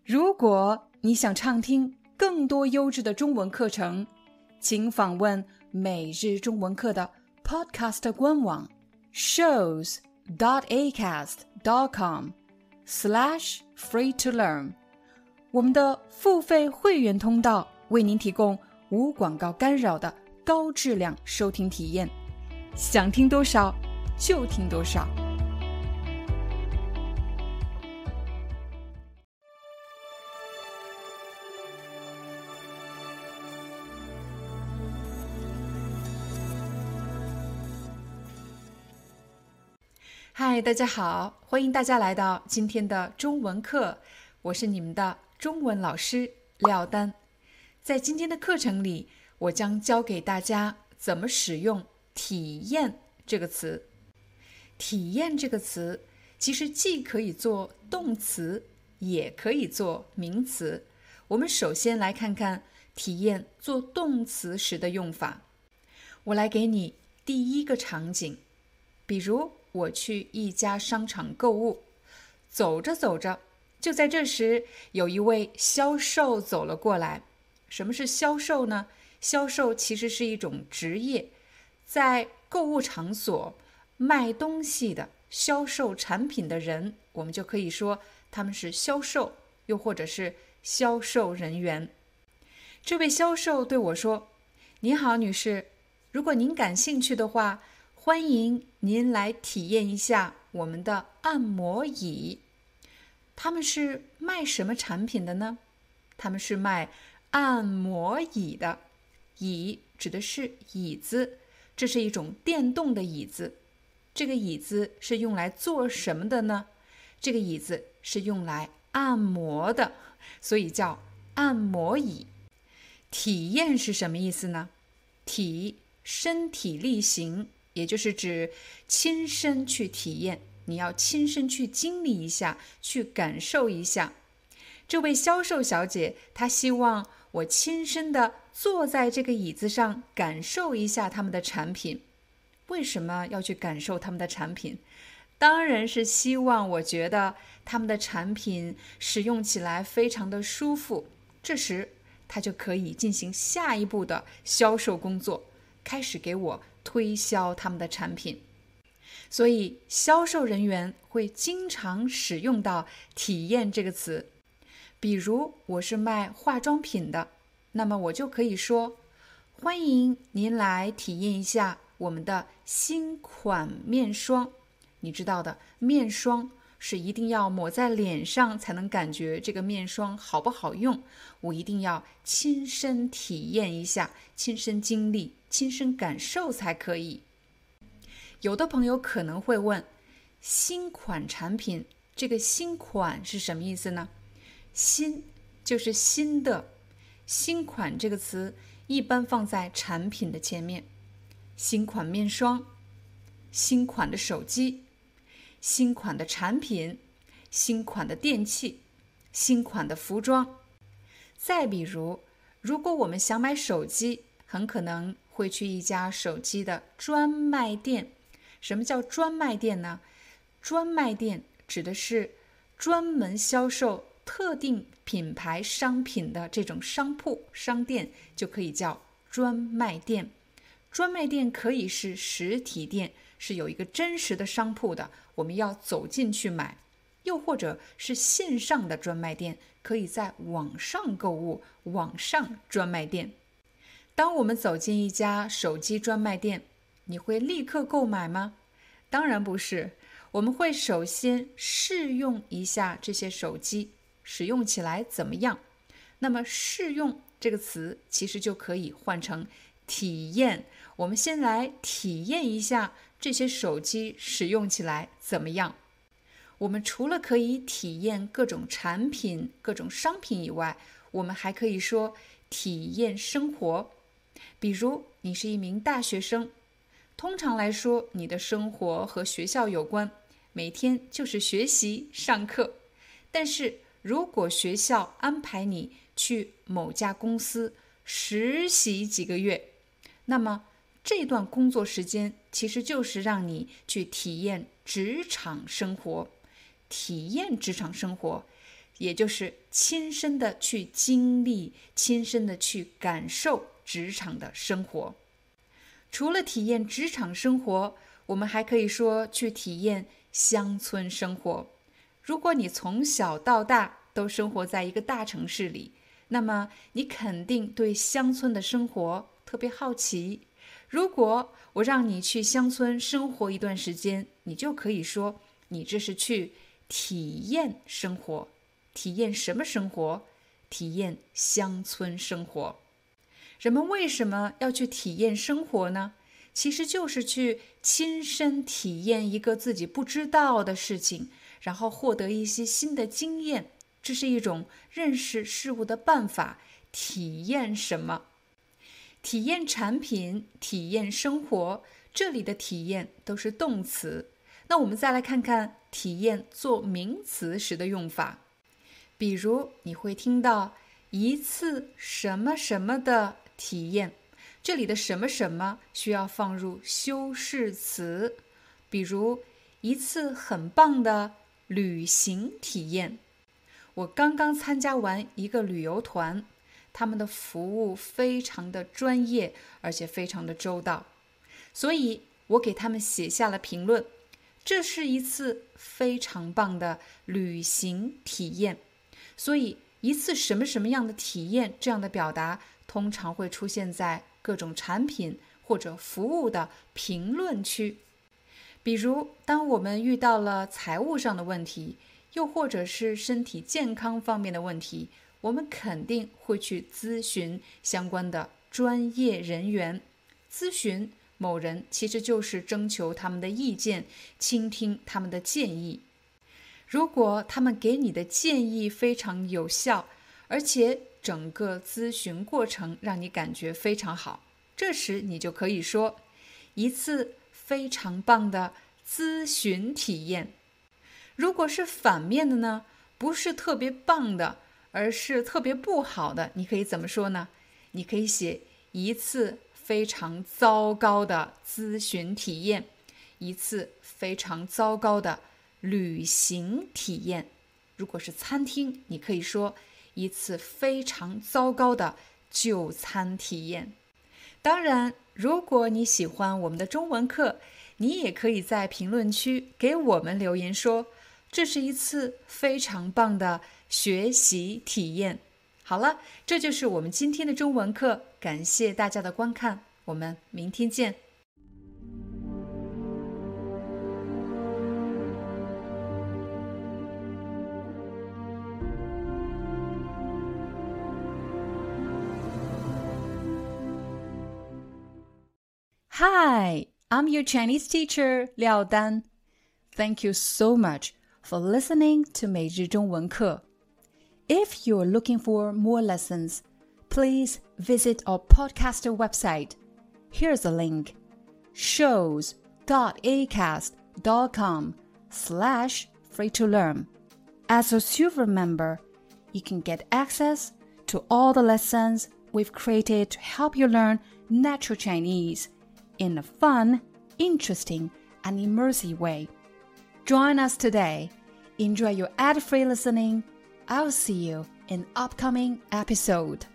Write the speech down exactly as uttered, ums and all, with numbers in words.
如果你想畅听更多优质的中文课程，请访问每日中文课的 Podcast 官网 shows dot acast dot com slash free to learn。 我们的付费会员通道为您提供无广告干扰的高质量收听体验，想听多少就听多少。嗨，大家好，欢迎大家来到今天的中文课，我是你们的中文老师廖丹。在今天的课程里，我将教给大家怎么使用体验这个词。体验这个词其实既可以做动词，也可以做名词。我们首先来看看体验做动词时的用法。我来给你第一个场景，比如我去一家商场购物，走着走着，就在这时，有一位销售走了过来。什么是销售呢？销售其实是一种职业，在购物场所卖东西的、销售产品的人，我们就可以说他们是销售，又或者是销售人员。这位销售对我说：“您好，女士，如果您感兴趣的话，欢迎您来体验一下我们的按摩椅。”他们是卖什么产品的呢？他们是卖按摩椅的。椅指的是椅子，这是一种电动的椅子。这个椅子是用来做什么的呢？这个椅子是用来按摩的，所以叫按摩椅。体验是什么意思呢？体，身体力行，也就是指亲身去体验，你要亲身去经历一下，去感受一下。这位销售小姐，她希望我亲身的坐在这个椅子上，感受一下他们的产品。为什么要去感受他们的产品？当然是希望我觉得他们的产品使用起来非常的舒服。这时，她就可以进行下一步的销售工作，开始给我推销他们的产品。所以销售人员会经常使用到体验这个词。比如我是卖化妆品的，那么我就可以说：欢迎您来体验一下我们的新款面霜。你知道的，面霜是一定要抹在脸上才能感觉这个面霜好不好用，我一定要亲身体验一下，亲身经历，亲身感受才可以。有的朋友可能会问，新款产品，这个新款是什么意思呢？新就是新的，新款这个词一般放在产品的前面。新款面霜，新款的手机，新款的产品，新款的电器，新款的服装。再比如，如果我们想买手机，很可能会去一家手机的专卖店。什么叫专卖店呢？专卖店指的是专门销售特定品牌商品的这种商铺、商店，就可以叫专卖店。专卖店可以是实体店，是有一个真实的商铺的，我们要走进去买；又或者是线上的专卖店，可以在网上购物，网上专卖店。当我们走进一家手机专卖店，你会立刻购买吗？当然不是，我们会首先试用一下这些手机，使用起来怎么样？那么试用这个词其实就可以换成体验。我们先来体验一下这些手机使用起来怎么样。我们除了可以体验各种产品、各种商品以外，我们还可以说体验生活。比如你是一名大学生，通常来说，你的生活和学校有关，每天就是学习、上课。但是如果学校安排你去某家公司实习几个月，那么这段工作时间其实就是让你去体验职场生活。体验职场生活， 也就是亲身的去经历，亲身的去感受职场的生活。除了体验职场生活，我们还可以说去体验乡村生活。如果你从小到大都生活在一个大城市里，那么你肯定对乡村的生活特别好奇。如果我让你去乡村生活一段时间，你就可以说你这是去体验生活。体验什么生活？体验乡村生活。人们为什么要去体验生活呢？其实就是去亲身体验一个自己不知道的事情，然后获得一些新的经验。这是一种认识事物的办法。体验什么？体验产品，体验生活，这里的体验都是动词。那我们再来看看体验做名词时的用法。比如你会听到一次什么什么的体验，这里的什么什么需要放入修饰词，比如一次很棒的旅行体验。我刚刚参加完一个旅游团，他们的服务非常的专业，而且非常的周到，所以我给他们写下了评论，这是一次非常棒的旅行体验。所以一次什么什么样的体验，这样的表达通常会出现在各种产品或者服务的评论区。比如当我们遇到了财务上的问题，又或者是身体健康方面的问题，我们肯定会去咨询相关的专业人员。咨询某人其实就是征求他们的意见，倾听他们的建议。如果他们给你的建议非常有效，而且整个咨询过程让你感觉非常好，这时你就可以说一次非常棒的咨询体验。如果是反面的呢，不是特别棒的，而是特别不好的，你可以怎么说呢？你可以写一次非常糟糕的咨询体验，一次非常糟糕的旅行体验。如果是餐厅，你可以说一次非常糟糕的就餐体验。当然，如果你喜欢我们的中文课，你也可以在评论区给我们留言说，这是一次非常棒的学习体验。好了，这就是我们今天的中文课，感谢大家的观看，我们明天见。Hi, I'm your Chinese teacher, Liao Dan. Thank you so much for listening to 每日中文课。If you're looking for more lessons, please visit our podcaster website. Here's a link: shows.acast.com slash free to learn. As a silver member, you can get access to all the lessons we've created to help you learn natural Chinese in a fun, interesting, and immersive way. Join us today. Enjoy your ad-free listening. I'll see you in upcoming episode.